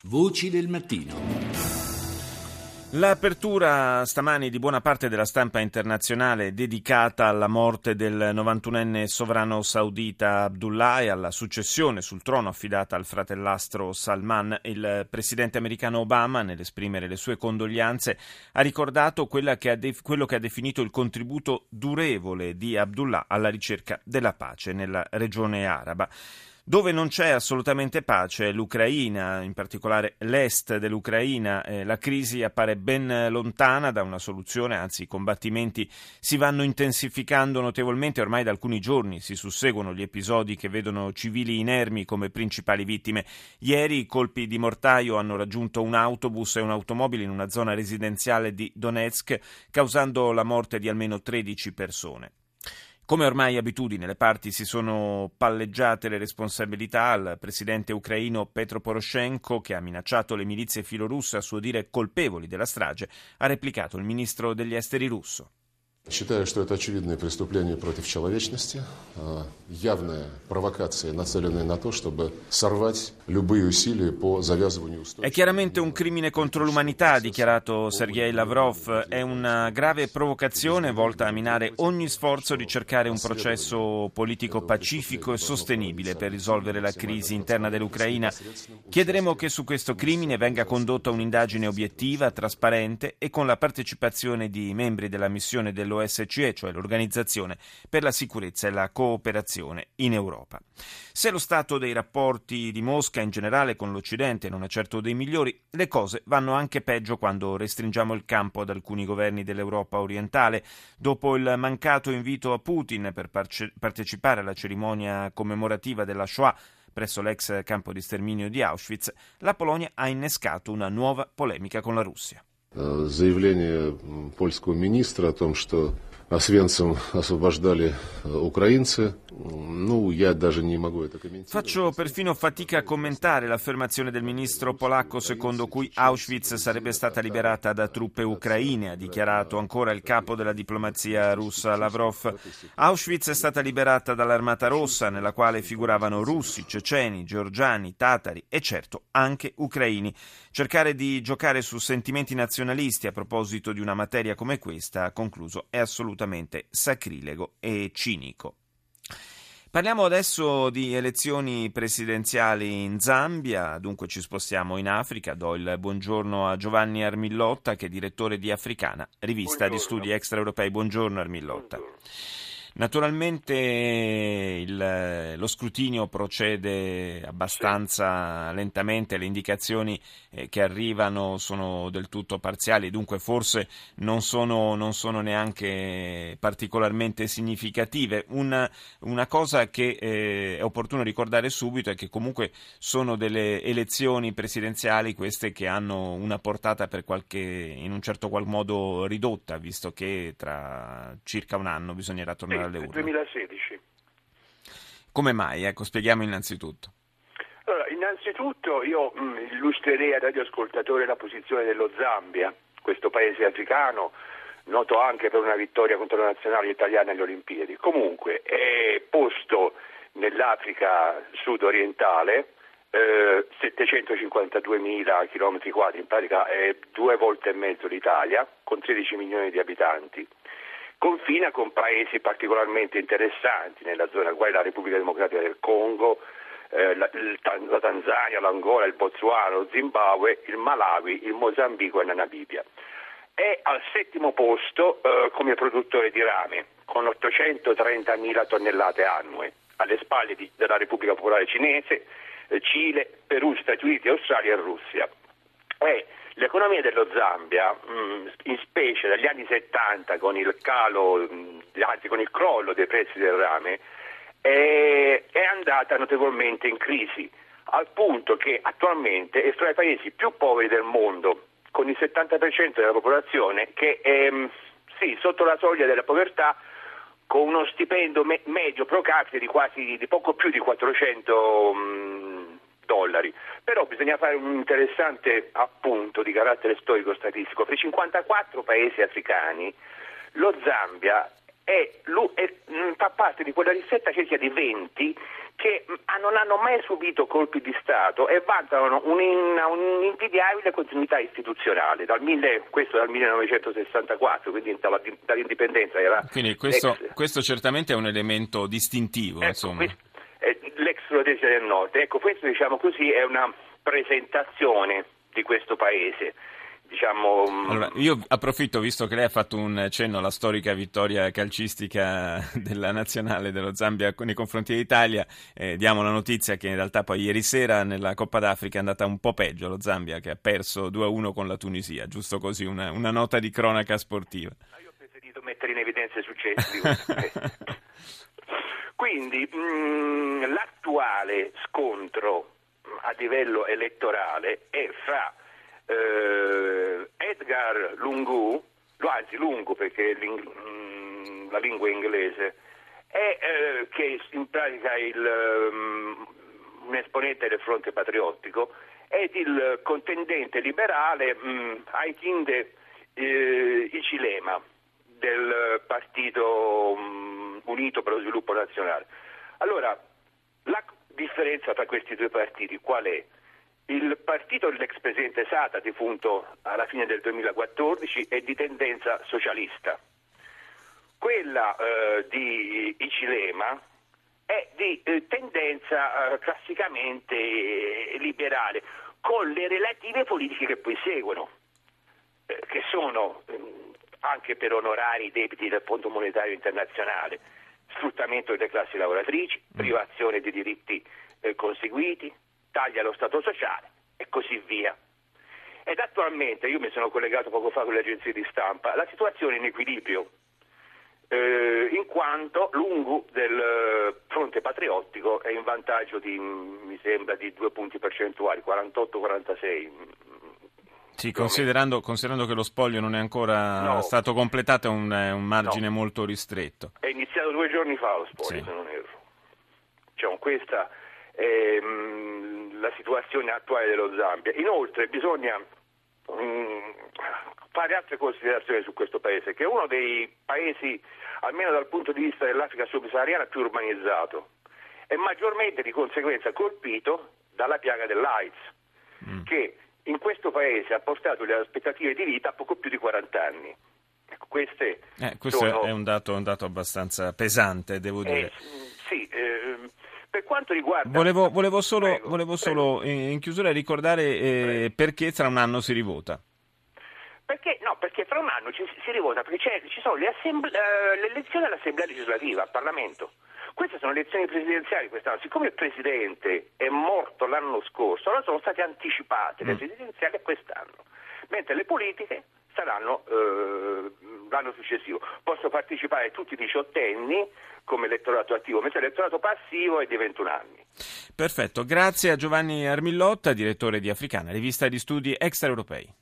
Voci del mattino. L'apertura stamani di buona parte della stampa internazionale è dedicata alla morte del 91enne sovrano saudita Abdullah e alla successione sul trono affidata al fratellastro Salman. Il presidente americano Obama, nell'esprimere le sue condoglianze, ha ricordato quello che ha definito il contributo durevole di Abdullah alla ricerca della pace nella regione araba. Dove non c'è assolutamente pace è l'Ucraina, in particolare l'est dell'Ucraina. La crisi appare ben lontana da una soluzione, anzi i combattimenti si vanno intensificando notevolmente. Ormai da alcuni giorni si susseguono gli episodi che vedono civili inermi come principali vittime. Ieri i colpi di mortaio hanno raggiunto un autobus e un'automobile in una zona residenziale di Donetsk, causando la morte di almeno 13 persone. Come ormai abitudine, le parti si sono palleggiate le responsabilità. Al presidente ucraino Petro Poroshenko, che ha minacciato le milizie filorusse a suo dire colpevoli della strage, ha replicato il ministro degli esteri russo. Считаю, что это очевидное преступление против человечности, явная провокация, нацеленная на то, чтобы сорвать любые усилия по завязыванию устойчивого. È chiaramente un crimine contro l'umanità, ha dichiarato Sergei Lavrov. È una grave provocazione volta a minare ogni sforzo di cercare un processo politico pacifico e sostenibile per risolvere la crisi interna dell'Ucraina. Chiederemo che su questo crimine venga condotta un'indagine obiettiva, trasparente e con la partecipazione di membri della missione dell'OSCE, cioè l'Organizzazione per la sicurezza e la cooperazione in Europa. Se lo stato dei rapporti di Mosca in generale con l'Occidente non è certo dei migliori, le cose vanno anche peggio quando restringiamo il campo ad alcuni governi dell'Europa orientale. Dopo il mancato invito a Putin per partecipare alla cerimonia commemorativa della Shoah presso l'ex campo di sterminio di Auschwitz, la Polonia ha innescato una nuova polemica con la Russia. Заявление польского министра о том, что Освенцим освобождали украинцы, я даже не могу это комментировать. Faccio perfino fatica a commentare l'affermazione del ministro polacco secondo cui Auschwitz sarebbe stata liberata da truppe ucraine, ha dichiarato ancora il capo della diplomazia russa Lavrov. Auschwitz è stata liberata dall'Armata Rossa, nella quale figuravano russi, ceceni, georgiani, tatari e certo anche ucraini. Cercare di giocare su sentimenti nazionalisti a proposito di una materia come questa, ha concluso, è assolutamente sacrilego e cinico. Parliamo adesso di elezioni presidenziali in Zambia, dunque ci spostiamo in Africa. Do il buongiorno a Giovanni Armillotta, che è direttore di Africana, rivista di studi extraeuropei. Buongiorno Armillotta. Naturalmente lo scrutinio procede abbastanza lentamente, le indicazioni che arrivano sono del tutto parziali, dunque forse non sono neanche particolarmente significative. Una cosa che è opportuno ricordare subito è che comunque sono delle elezioni presidenziali queste che hanno una portata in un certo qual modo ridotta, visto che tra circa un anno bisognerà tornare alle urne. 2016. Come mai? Spieghiamo innanzitutto. Allora, innanzitutto io illustrerei al radioascoltatore la posizione dello Zambia, questo paese africano, noto anche per una vittoria contro la nazionale italiana alle Olimpiadi. Comunque è posto nell'Africa sud-orientale, 752.000 chilometri quadri, in pratica è 2 volte e mezzo l'Italia, con 13 milioni di abitanti. Confina con paesi particolarmente interessanti nella zona, quali la Repubblica Democratica del Congo, la Tanzania, l'Angola, il Botswana, lo Zimbabwe, il Malawi, il Mozambico e la Namibia. È al 7° posto come produttore di rame, con 830.000 tonnellate annue, alle spalle della Repubblica Popolare Cinese, Cile, Perù, Stati Uniti, Australia e Russia. L'economia dello Zambia, in specie dagli anni 70 con il crollo dei prezzi del rame, è andata notevolmente in crisi, al punto che attualmente è fra i paesi più poveri del mondo, con il 70% della popolazione che è sotto la soglia della povertà, con uno stipendio medio pro capite di poco più di $400. Però bisogna fare un interessante appunto di carattere storico-statistico. Per i 54 paesi africani lo Zambia fa parte di quella ristetta cerchia di 20 che non hanno mai subito colpi di Stato e vantano un'invidiabile continuità istituzionale, questo dal 1964, quindi dall'indipendenza. Quindi questo certamente è un elemento distintivo. Insomma. L'ex Rhodesia del Nord. Ecco, questo, diciamo così, è una presentazione di questo paese. Allora, io approfitto, visto che lei ha fatto un cenno alla storica vittoria calcistica della nazionale dello Zambia nei confronti dell'Italia, diamo la notizia che in realtà poi ieri sera nella Coppa d'Africa è andata un po' peggio lo Zambia, che ha perso 2-1 con la Tunisia, giusto così, una nota di cronaca sportiva. Io ho preferito mettere in evidenza i successi. Quindi l'attuale scontro a livello elettorale è fra Edgar Lungu, anzi Lungu perché la lingua è inglese, che in pratica un esponente del Fronte Patriottico, ed il contendente liberale Hakainde Hichilema del Partito Unito per lo Sviluppo Nazionale. Allora, la differenza tra questi due partiti qual è? Il partito dell'ex presidente Sata, defunto alla fine del 2014, è di tendenza socialista. Quella di Hichilema è di tendenza classicamente liberale, con le relative politiche che poi seguono, che sono anche per onorare i debiti del Fondo Monetario Internazionale, sfruttamento delle classi lavoratrici, privazione di diritti conseguiti, tagli allo Stato sociale e così via. Ed attualmente, io mi sono collegato poco fa con le agenzie di stampa, la situazione è in equilibrio, in quanto Lungu del Fronte Patriottico è in vantaggio mi sembra di 2 punti percentuali, 48-46. Sì, considerando che lo spoglio non è ancora stato completato, è un margine molto ristretto. È iniziato 2 giorni fa lo spoglio, se non erro. Questa è la situazione attuale dello Zambia. Inoltre bisogna fare altre considerazioni su questo paese, che è uno dei paesi, almeno dal punto di vista dell'Africa subsahariana, più urbanizzato e maggiormente di conseguenza colpito dalla piaga dell'AIDS, che in questo paese ha portato le aspettative di vita a poco più di 40 anni. Ecco, questo è un dato abbastanza pesante, devo dire. Sì, per quanto riguarda... Volevo solo in chiusura ricordare perché tra un anno si rivota. Perché fra un anno si rivota, perché ci sono le elezioni all'Assemblea legislativa, al Parlamento. Queste sono elezioni presidenziali quest'anno. Siccome il Presidente è morto l'anno scorso, allora sono state anticipate le presidenziali a quest'anno, mentre le politiche saranno l'anno successivo. Possono partecipare tutti i 18enni come elettorato attivo, mentre l'elettorato passivo è di 21 anni. Perfetto, grazie a Giovanni Armillotta, direttore di Africana, rivista di studi extraeuropei.